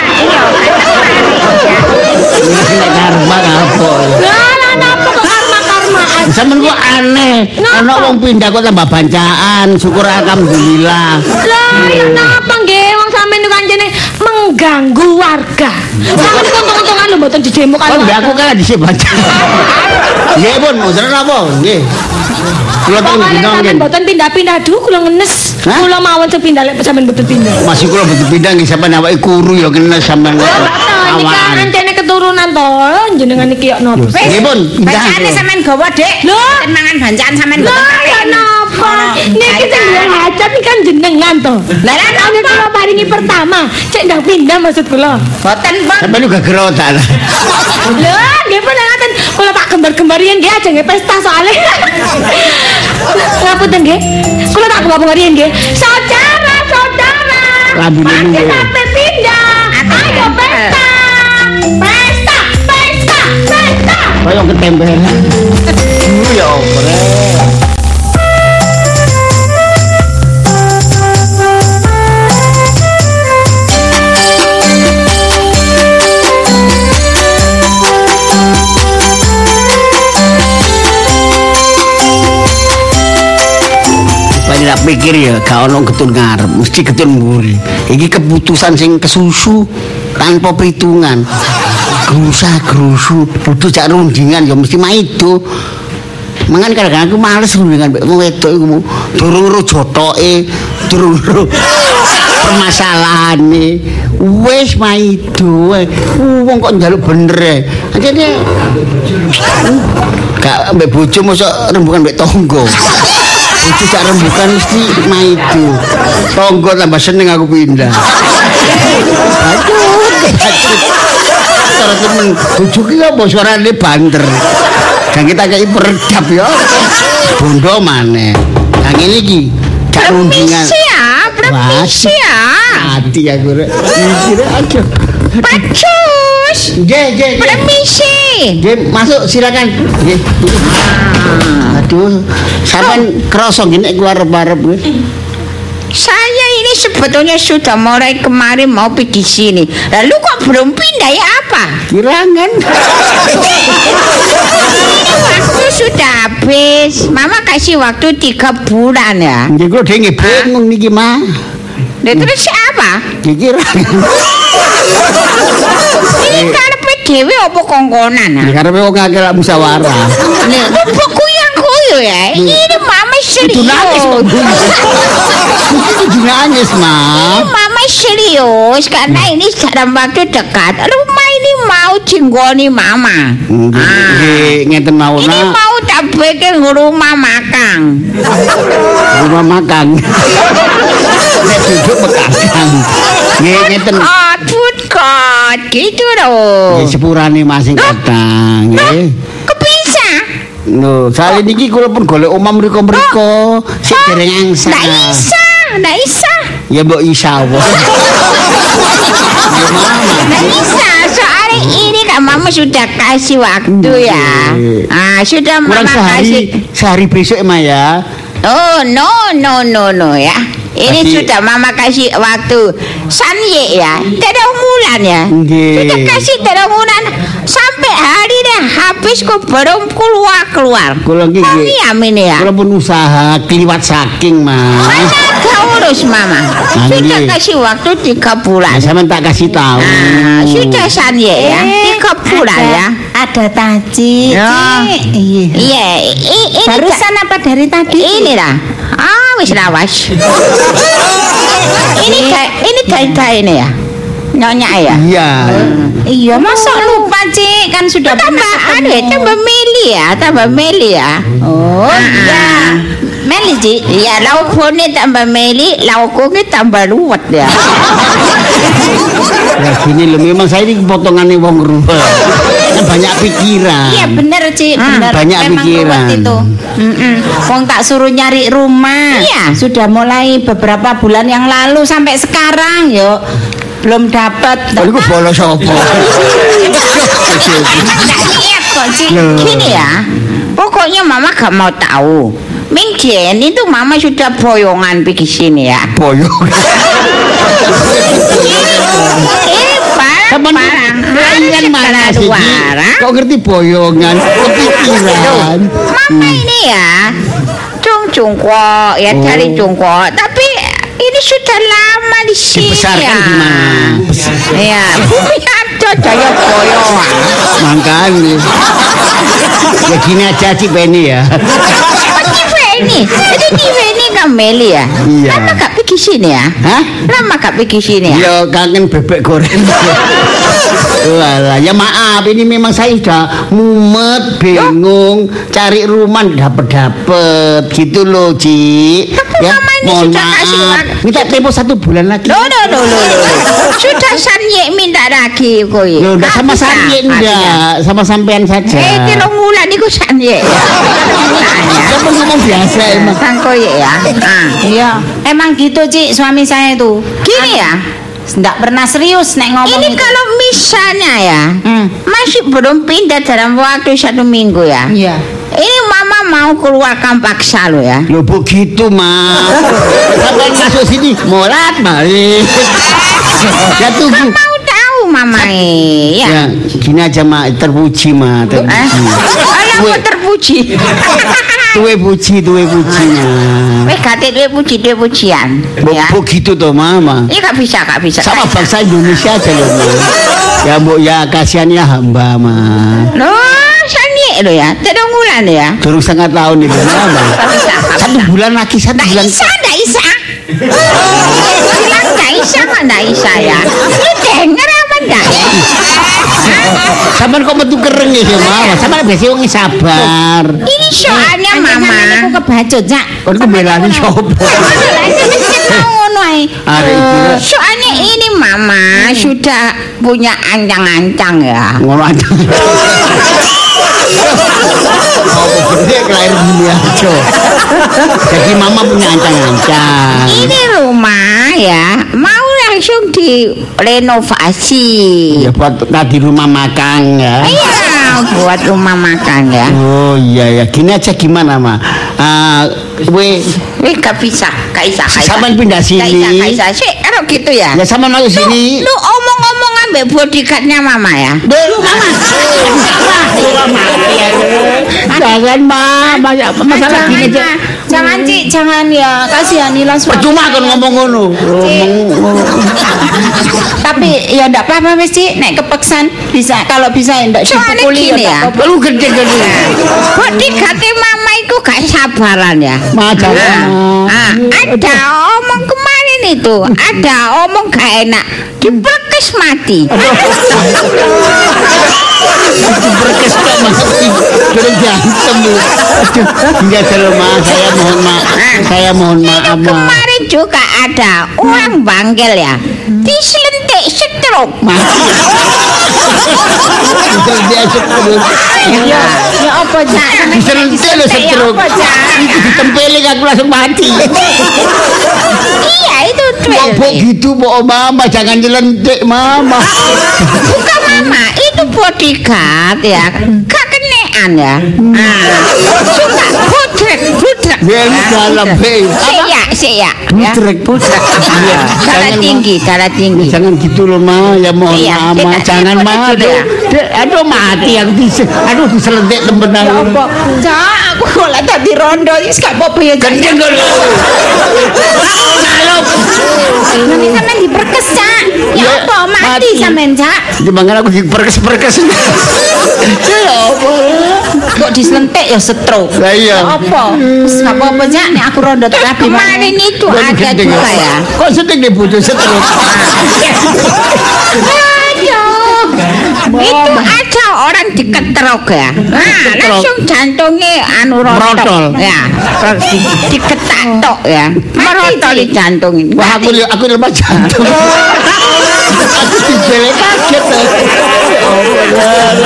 Nek karma apa? Lah napa kok karma-karmaan? Sampeyan kok aneh. Ana wong pindah kok tambah bancaan, syukur alhamdulillah. Lah ya napa nggih wong sampeyan niku kancene mengganggu warga. Sampeyan untung-untungan lho mboten dijemuk karo. Kok aku kan dhisik bancaan. Nggih pun, mboten napa? Nggih. Kula teng dina nggih. Mboten pindah-pindah dulu kula ngenes. Kula mawon sepindah lek sampeyan mboten pindah. Masih kula mboten pindah nggih sampeyan awake kuru ya ngenes sampeyan. Awan. Ancene keturunan to, jenengan iki yo napa? Nggih pun, bancane sampean gawa, Dik. Lho, mangan bancaan sampean lho ya napa? Niki sing duwe hajat iki kan jenengan to. Lah lan kula paringi pertama, cek ndang pindah maksud kula. Boten, Pak. Sampeyan juga gerotan. Lho, nggih pun ngaten. Kula tak gembar-gembar yen nggih aja nggih pesta soalé. Ngapunten nggih. Kula tak gembar-gembar yen nggih. Saudara, saudara. Lambune nggih. Sampai pindah. Ayo pesta. Pesta, pesta, pesta. Kaya ketempelan. Dulu ya opre. Tak pikir ya gak ono getun ngarep mesti getun mburi iki keputusan sing kesusu tanpa perhitungan grusa grusu butuh jak rundingan ya mesti maido mangan kadang-kadang aku males rundingan mbek wong wedok iku durung ro jotoke durung ro permasalahane wis maido wong kok njaluk bener e akhirnya gak mbek bojo mosok rembukan mbek tonggo. Itu cak rembukan mesti maidu. Tonggo tambah seneng aku pindah. Aduh, cara temen bojo ki apa suarane banter. Dan kita kayak peredap ya. Bondo maneh. Nah ngene iki gak rundingan. Permisi ya, permisi ya. Hati aku rek. Mikir aja. Pacus. Nggih, nggih. Permisi. Nggih, masuk silakan. Nggih. Aduh, sampean krasa nggih nek keluar arep-arep nggih. Saya ini sebetulnya sudah mulai kemarin mau pergi sini. Lalu kok belum pindah ya apa? Kirangan. Ini waktu sudah habis. Mama kasih waktu tiga bulan ya. Nggih kok dhewe bingung niki mah. Lah terus siapa? Kirangan. Ini karepe dhewe apa kongkonan? Ya karepe wong akeh lak musyawarah. Nih, buku yang kuyu ya. Ini mama serius. Itu nangis, Itu nangis, Ma. Ini mama serius karena ini dalam waktu dekat. Rumah ini mau jinggoni mama. Nggih, ngeten mawon. Ini mau tak bikin rumah makan. Rumah makan. Nek duduk mekakang. Nggih, ngeten. Aduh, kok gitu loh. Nggih sepurane masing kadang, nggih. Kepisa? Lho, sale niki kula pun golek omah mriko-mriko, sik dereng angsa. Ndak isa, ndak isa. Ya mbok isa apa. Ndak isa, soalnya ini kan mama sudah kasih waktu ya. Ah, sudah mama kasih. Sehari besok emang ya. Oh, no, no, no, no ya. Ini Kasih. sudah mama kasih waktu sanye ya, tidak bulan ya. Nggih. Sudah kasih tidak bulan sampai hari ini habis kok belum keluar keluar. Kula nggih. Kami amin ya. Kula pun usaha kliwat saking, Mas. Mana ada urus mama. Sudah nggih. kasih waktu tiga bulan. Nah, sampean tak kasih tahu. Ah, sudah sanye ya, tiga bulan ya. Ada taji. Ya. Iya. Iya, i- ini Barusan apa dari tadi? ini lah. Ah, wis lawas. ini kayak ini kayak ini ya. Nyonya ya. Iya. Iya, masa lupa, Cik? Kan sudah Tambah pernah anu ya, ketemu. tambah meli ya, tambah meli ya. Oh, Ah, iya. ah. Meli, Cik. Iya, lauknya tambah meli, lauknya tambah luwet ya. Ya gini loh, memang saya ini potongannya wong rumah. Banyak pikiran. Iya, bener, Cik. Hmm, Bener. banyak Memang pikiran. ruwet itu. Mm-mm. Wong tak suruh nyari rumah. Iya. Sudah mulai beberapa bulan yang lalu sampai sekarang, yuk. Belum dapat. Kalau itu bolos apa? niat kok Cik. Gini ya. Pokoknya mama gak mau tahu. Minggen itu mama sudah boyongan pergi sini ya. Boyongan. Ini barang-barang. Kalian mana sih? Kok ngerti boyongan? Kepikiran. Mama ini ya. Jongkok ya cari jongkok. Tapi ini sudah lama di sini. Dibesarkan di mana? Ya, bumi ada jaya boyongan. Makanya. Ya gini aja Cik Beni ya. Ini, itu T V ini Meli ya? Iya. Lama gak pergi sini ya? Hah? Lama gak pergi sini ya? Ya kangen bebek goreng. Walah, ya maaf ini memang saya sudah mumet, bingung, cari rumah dapet-dapet gitu loh, Ci. Tapi ya, mama ini mohon sudah maaf. kasih uang. Minta tempo satu bulan lagi. Loh, loh, loh, loh, loh. Sudah Sanye minta lagi koi. Loh, enggak sama Sanye enggak, sama sampean saja. Eh, telung bulan itu Sanye. Kamu ngomong biasa emang. Sang koi ya. Ah. Iya, emang gitu Cik suami saya itu. Gini ya. Nggak pernah serius nek ngomong Ini itu. kalau misalnya ya, Hmm. masih belum pindah dalam waktu satu minggu ya. Iya. Ini mama mau keluarkan paksa lo ya. Loh begitu, Mas. Sampai masuk sini molat balik. Ya tunggu. Kan mau tahu mama eh, ya. Ya, gini aja, Mak, terpuji, Mak, Eh, terpuji. alah Kue- kok terpuji. Tuwe puji, tuwe pujinya. Weh kate duwe puji duwe pujian. Ya. Begitu toh, Mama. Ini gak bisa, gak bisa. Sama gak bisa. bangsa Indonesia aja loh, Ma. Ya, Mbok, ya kasihan ya hamba, Ma. Loh, sani lo ya. Telung bulan ya. Durung setengah tahun itu, Mama. Gak bisa, gak Satu bisa. bulan lagi, satu Nggak bulan. bisa, nggak bisa. Bilang nggak bisa, mah nggak bisa ya. Lu denger apa nggak? Sampai kok metu kereng ya, Mama. Sampai biasa wong sabar. Ini soalnya mama. Aku kebacut, Cak. Kon ku belani sapa? Ngono ae. Arek iki. Eh, Soalnya ini mama sudah punya ancang-ancang ya. Ngono aja. Oh, gede kelahiran dunia aja. Jadi Mama punya ancang-ancang. Ini rumah ya mau langsung direnovasi. Ya buat tadi rumah makan ya. Iya, buat rumah makan ya. Oh iya ya, gini aja gimana, Ma? Ah, we Eh, gak bisa, gak bisa, gak bisa. Sampean pindah Gak bisa, sini. gak bisa. Sih, kalau gitu ya. Ya sama masuk sini. Lu omong-omong ambek bodyguardnya mama ya. Dulu Mama. Jangan, Ma. Masalah gini aja. Jangan Cik, jangan ya. Kasihanilah suami. Percuma kan ngomong ngono. Ngomong. Tapi ya enggak apa-apa wis Cik, nek kepeksan bisa kalau bisa ya ndak Soalnya dipukuli gini ya. Lu gede-gede. Bodyguardnya mama itu gak sabaran ya. Ma jangan. Ah, ada omong kemarin itu, ada omong gak enak, diperkes mati. Berkes kok Mas. Durung diantem. Aduh, enggak salah, Ma. Saya mohon maaf. Saya mohon maaf, Ma. Kemarin juga ada orang bangkel ya, diselentik stroke. Itu dia seterus. Ya, ya apa Cak? Diselentik lo seterus. Itu ditempelin aku langsung mati. Iya itu Kok duel. gitu, Mbok Mama, jangan nyelentik, Mama. Bukan mama, itu bodyguard ya, gak kenean ya. Ah, suka budrek, budrek. Ya ini dalam, hei. Sik ya, sik ya. Budrek. Budrek. Iya, Darah jangan, tinggi, darah tinggi. Jangan gitu loh, Ma. Ya mohon Iya, maaf, Ma. kita- Jangan, kita Ma. dulu Aduh, ya. Dek, aduh mati aku dis aduh diselentik temen Ya aku. apa? Cak, aku kok lek dadi rondo wis gak apa-apa ya Cak. Gendeng kok lho. Salop. Nanti sampean diperkes Cak. Ya Ya, apa mati mati. sampean Cak? Jangan aku diperkes-perkes. Ya apa? Kok diselentik ya stroke. Lah iya. Ya apa? Wis gak apa-apa Cak, nek aku rondo tak rapi. Kemarin itu Aduh, ada gendeng juga ya. Kok sedih deh butuh seterus. Aduh, itu ada orang diketrok ya. Nah, langsung jantungnya anu Merotol. rotol. Ya, terus di, diketak tok ya. Merotol di jantung ini. Wah aku aku lemah jantung. Aku dijele kaget.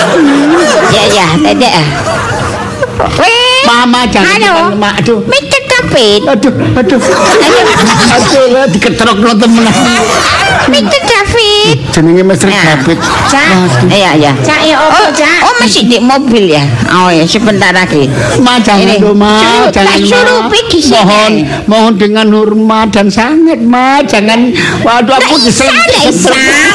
Ya ya, dedek. Weh. Mama jangan Halo. lemah. Aduh. Mikir David. Aduh, aduh. Aduh, lah diketrokno temenan. mister David. Jenenge Mister David. Cak. Iya, iya. Cak ya opo, Cak? Oh, masih di mobil ya. Oh ya, sebentar lagi. Ma jangan dong, Ma. Jangan, suruh pergi sini. Mohon, mohon dengan hormat dan sangat, Ma. Jangan. Waduh, aku disentik. Bisa.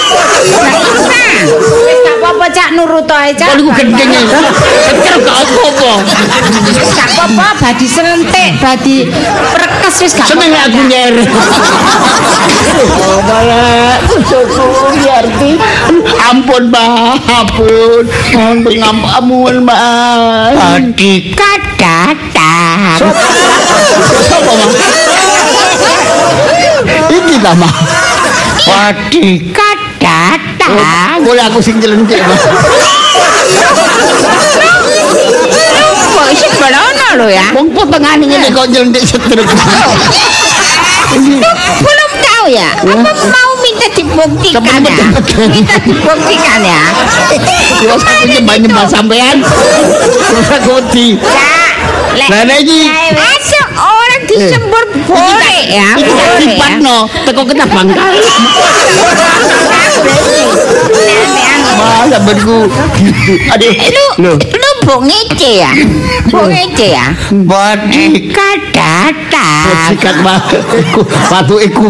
Gak apa-apa, Cak, nurut ae, Cak. Kalau gendeng ya. Kecer gak apa-apa. Gak apa-apa, badi selentik, badi perkes wis gak seneng aku nyeret. Oh, malah syukur ya Arti. Ampun, Ma. Ampun. Ampun, ampun, Ma. Badi kadatan. Sopo, Ma? Iki ta, Ma. Badi kadatan. Boleh aku sing jelentik, Ma. Kok isi belono lo ya? Wong potongane ngene kok jelentik setruk. Belum tahu ya? Apa mau minta dibuktikan ya? Minta dibuktikan ya? Terus aku nyembah-nyembah sampean. Terus aku wedi. Cak, lek Lah iki ada orang disembur boleh ya? iki tak Boleh ya? dipatno teko kita bangkal. Ma, sampeanku. Aduh. Lu lu bu ngece ya? Bu ngece ya? Badi kadatan. Sikat Ma. Watu iku.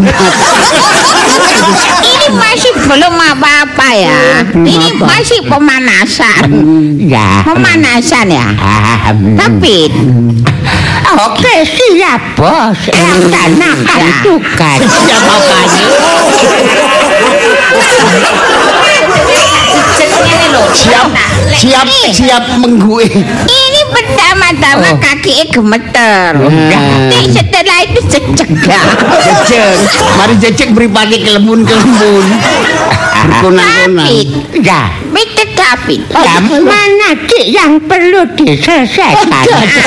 Ini masih belum apa-apa ya? Ini masih pemanasan. Ya. Pemanasan ya? Tapi Oke, siap, Bos. Laksanakan tugas. Ya bapaknya. Siap, siap, siap menggue. ini pertama-tama kaki gemeter. Nih setelah itu cecegah. Jejek. Mari jejek mripate kelembun-kelembun. Berkunang-kunang. David, Ya. mister David. Yang mana Dik yang perlu diselesaikan?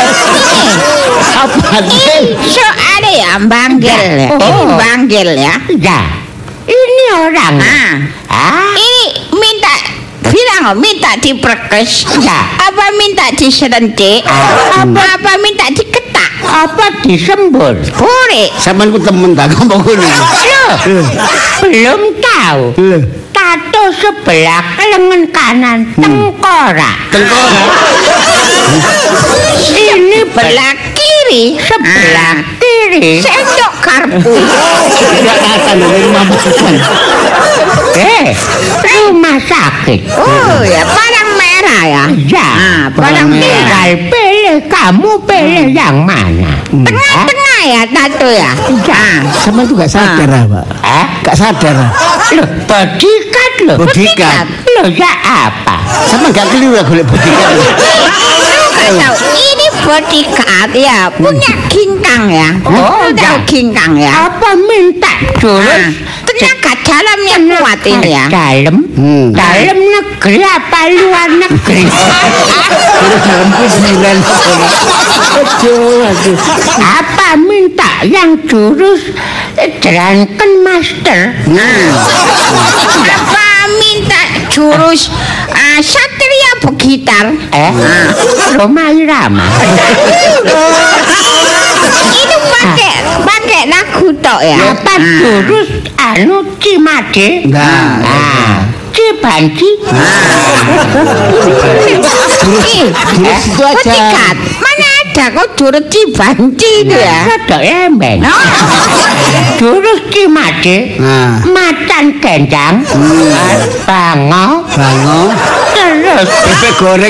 Apa Ini soalnya ya banggil ya. Oh. Ini banggil ya. Ya. Ini orang. Ah, Ah. ini minta bilang minta diperkes. Ya. Apa minta diserentik? Apa apa minta diketak? Apa disembur? Boleh. Sampeyan ku temen tak ngomong ngene. Loh, belum tahu. Lho, Tato sebelah lengan kanan tengkorak. tengkorak. Ini Belah kiri. sebelah Ah. kiri. Sendok karpu. Tidak katan dari makan. Eh, rumah sakit. Oh ya, barang merah ya. Ya, Ah, barang merah. tinggal pilih, kamu pilih yang mana? Tengah-tengah ya tato ya. Ah. Sampeyan tuh gak sadar, ah, Pak. Eh, Gak sadar. loh, bodyguard loh. Bodyguard. Loh, ya apa? Sampeyan gak keliru golek bodyguard. Tahu, ini bodyguard ya, punya ginkang ya. Oh, Tahu ya. ginkang ya. Apa minta Ah, jurus tenaga dalamnya kuat ini ya. dalam? Hmm. Dalam negeri apa luar negeri? Terus dalam kuburan. Aduh, aduh. Apa minta yang jurus Drunken Master? Apa minta jurus ah, satria begitar? Eh, Roma Irama. Itu pakai pakai lagu tok ya. Apa jurus anu Cimade? Nah, Ah, Cibanci. Ih, jurus itu aja. bodyguard. Mana ada kok jurus cibanci itu ya? Rodok embeng. No. Jurus Cimade. Nah, Macan gendang. Bango. bango. Terus Bebek goreng.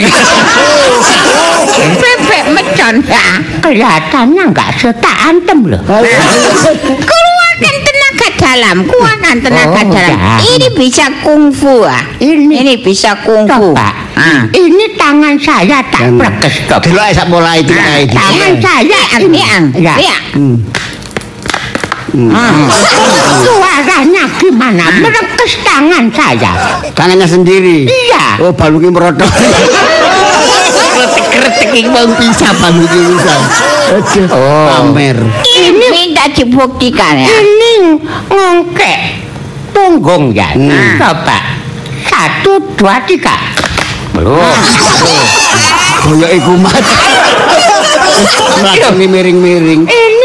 Bebek mecon ya. kelihatannya nggak setak antem loh. Keluarkan tenaga dalam, keluarkan tenaga Oh, dalam. ya. Ini bisa kungfu ah. Ini. Ini bisa kungfu. Coba. Ah. Ini tangan saya tak Dan- perkes stop. Delok sak pola itu kayak gitu. Tangan saya Lihat, ini. lihat, Ya. lihat. Suaranya gimana? Merekes tangan saya. Tangannya sendiri. Iya. Oh, balungnya merodok. Kretek-kretek iki mau bisa balungnya bisa. Aduh, Oh. pamer. Ini minta dibuktikan ya. Ini ngongkek punggung ya. Hmm. Coba. Satu, dua, tiga. Belum. Koyo iku mat. Langsung miring-miring. Ini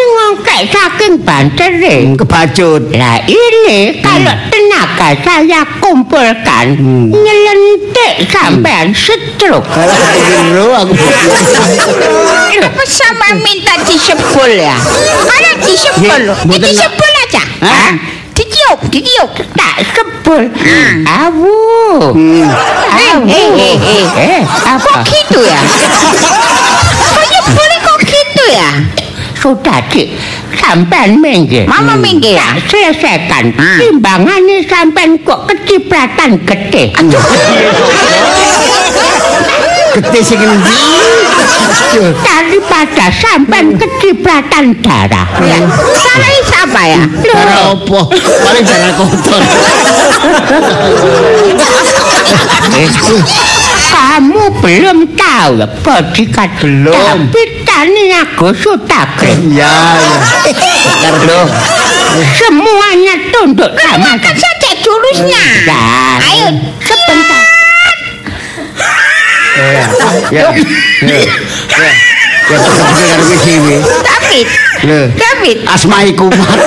efek saking bantere. Kebacut. Nah ini kalau tenaga saya kumpulkan nyelentik sampean stroke. Kalau keliru aku Apa sama minta disebul ya? Kalau disebul, Nggih, ya mboten- disebul aja. Hah? Ditiup, ditiup. Tak sebul. Awu. Awu. Eh, eh, eh, Eh, Kok apa? gitu ya? Kok nyebulnya kok gitu ya? Sudah, Dik. Sampean minggir. Mama minggir. Tak selesaikan. Hmm. Timbangannya sampean kok kecipratan gede. gede sing endi? Daripada sampean kecipratan darah. Ya. Salah siapa ya? Darah apa? Paling darah kotor. Kamu belum tahu ya, bodyguard Belum. Tapi tani aku sudah keren. Iya, iya. Loh, semuanya tunduk sama Kan saja jurusnya. Ya. Ayo, sebentar. Ya. Ya. Ya. Ya bener karo kowe dhewe. David. Lho. David. Asmaiku.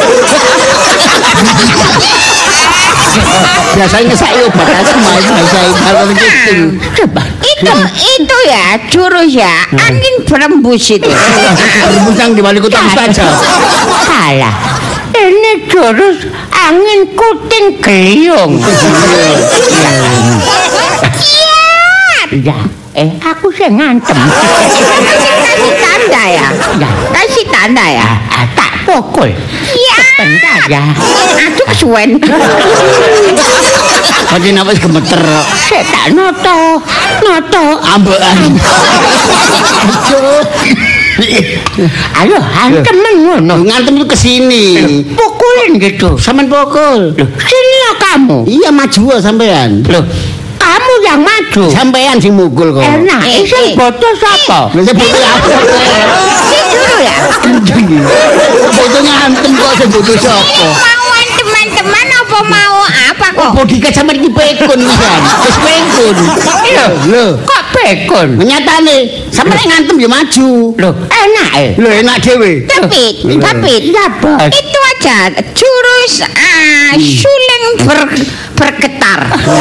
Biasanya ngesaki obat asma bahasa Ibarat gitu. Coba. Itu itu ya jurus ya angin berembus itu. Rebusan di balik kota saja. Salah. Ini jurus angin kuting geliung. Ya, eh aku sih ngantem. Kasih tanda ya. Ya, Kasih tanda ya. ah, tak pukul. Iya. Bentar ya. Aduh kesuwen. Pati napa gemeter. Saya tak noto, noto. Ambekan. Ayo, hantemen ngono. Ngantem itu kesini. Pukulin gitu. Sampean pukul. Loh, sini lah kamu. Iya maju sampean. Loh, kamu yang maju. Sampean sing mukul kok. Enak, Eh, sing eh. bodoh sapa? Lha sebut apa? Si dulu ya. Foto ngantem kok sebut sapa? Mauan teman-teman apa mau apa kok? Bodyguard sampean iki pekun pisan. Wis pekun. Lho, lho. Kok bekon? Nyatane sampean ngantem ya maju. Loh, enak eh. Lho enak dhewe. David, David. Ya, Bos. Itu aja jurus ah, suling ber, bergetar.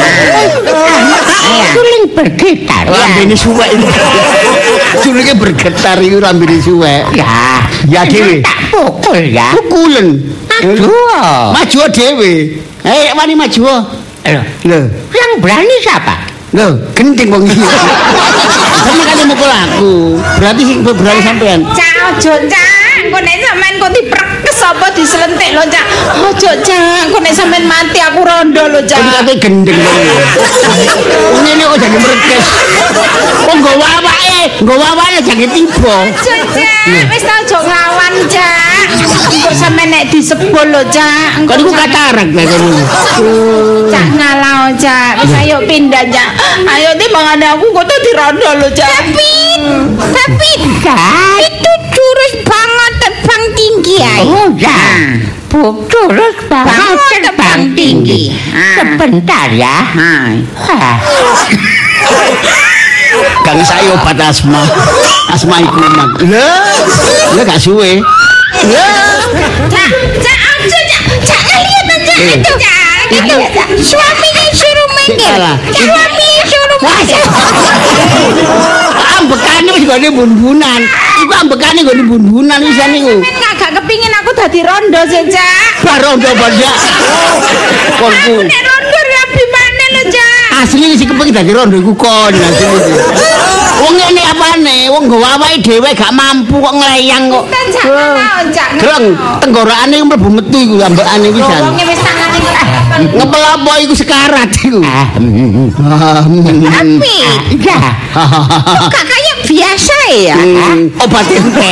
Iya. Suling bergitar. Rambene suwek iki. Sulinge bergetar iku rambene suwek. Ya, Ya dhewe. tak pukul ya. Pukulen. Aduh. Maju dhewe. Eh wani maju. Loh, Lho, yang berani siapa? lho, gending wong iki. Sampe kan mukul aku. Berarti sing berani sampean. Cak ojo cak, kok nek sampean kok diperkes apa diselentik lho cak. Ojo cak, kok nek sampean mati aku rondo lho Jadi cak. kate gendeng. Ngene kok jadi merekes. Kok nggawa awake, nggawa awake jange tiba. Ojo cak, wis tau ojo nglawan cak. Kok sampean nek disebul lho cak. Kok niku katarak lho kono. Cak ngalau cak, wis ayo pindah cak. Ayo timbangane aku kok tuh dirondo lho cak. David, David. Kan? Itu jurus banget terbang tinggi ya. Oh ya. Bu, terus banget Bangun terbang terbang tinggi. tinggi. Ah. Sebentar ya. Hai. Hah. Kang saya obat asma. Asma iku mak. Lho, lho gak suwe. Lho, Cak, cak, aja cak, cak lihat aja Eh. itu cak, itu suaminya suruh minggir, Salah. suaminya suruh minggir. ambekane wis gone bun-bunan. Iku ambekane gone bun-bunan wisan niku. Men gak kepingin aku dadi rondo sih cak. Barondo banyak. Konku. Nek rondo rapi mana lo cak? Asli sing kepengin dadi rondo iku kon asli. Wong ngene apane? Wong nggawa awake dhewe gak mampu kok ngleyang kok. Kita cak mau cak. Greng, tenggorokane mlebu metu iku ambekane pisan. Wongnya wis tangane Ngepel apa iku sekarat iku. Ah, mm, mm. tapi Ya. kok kayak biasa ya. Hmm, obat ente.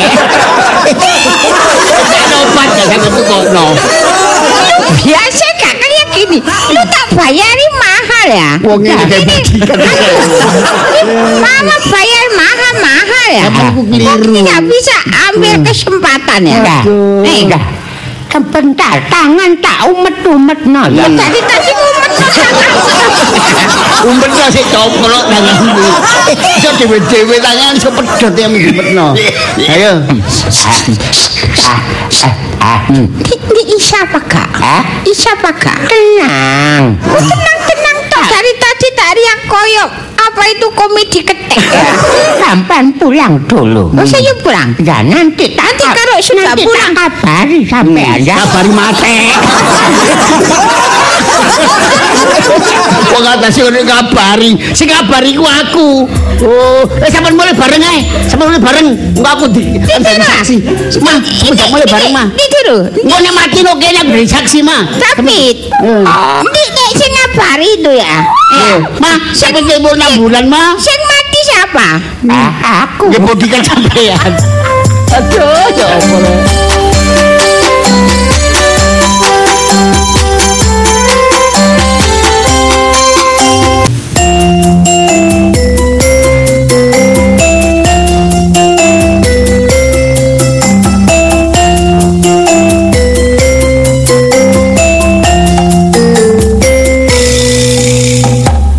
Ada obat ya sampe tukono. Biasa gak kayak gini. Lu tak bayari mahal ya. Wong ngene kayak badikan. Mama bayar mahal-mahal ya. Apa aku keliru? Kok nggak bisa ambil kesempatan ya? Enggak. Enggak. Sebentar, tangan tak umet-umet no. Ya tadi tadi umet Umpetno sik coplok tanganmu. Iso dhewe-dhewe tangan iso pedhot ya umpetno. Ayo. Ini Isya apa kak? Isya apa kak? Tenang. Oh, tenang tenang toh. Dari tadi tak riak koyok. Apa itu komedi ketek ya? Sampan pulang dulu. Oh saya pulang. Ya nanti tak Nanti kalau sudah nanti pulang tak kabari sampean ya. Kabari mate. Wong atase ngene kabari, sing kabari ku aku. Oh, eh sampean mulai bareng ae. Sampean mulai bareng. Engko aku di saksi. Mah, aku mulai bareng mah. Ini dulu. Engko nek mati no kene aku dari saksi mah. Tapi, ini nek sing ngabari itu ya. Mah, sampe kebo enam bulan mah. Sing mati siapa? Aku. Ya bodyguard sampean. Aduh, ya Allah.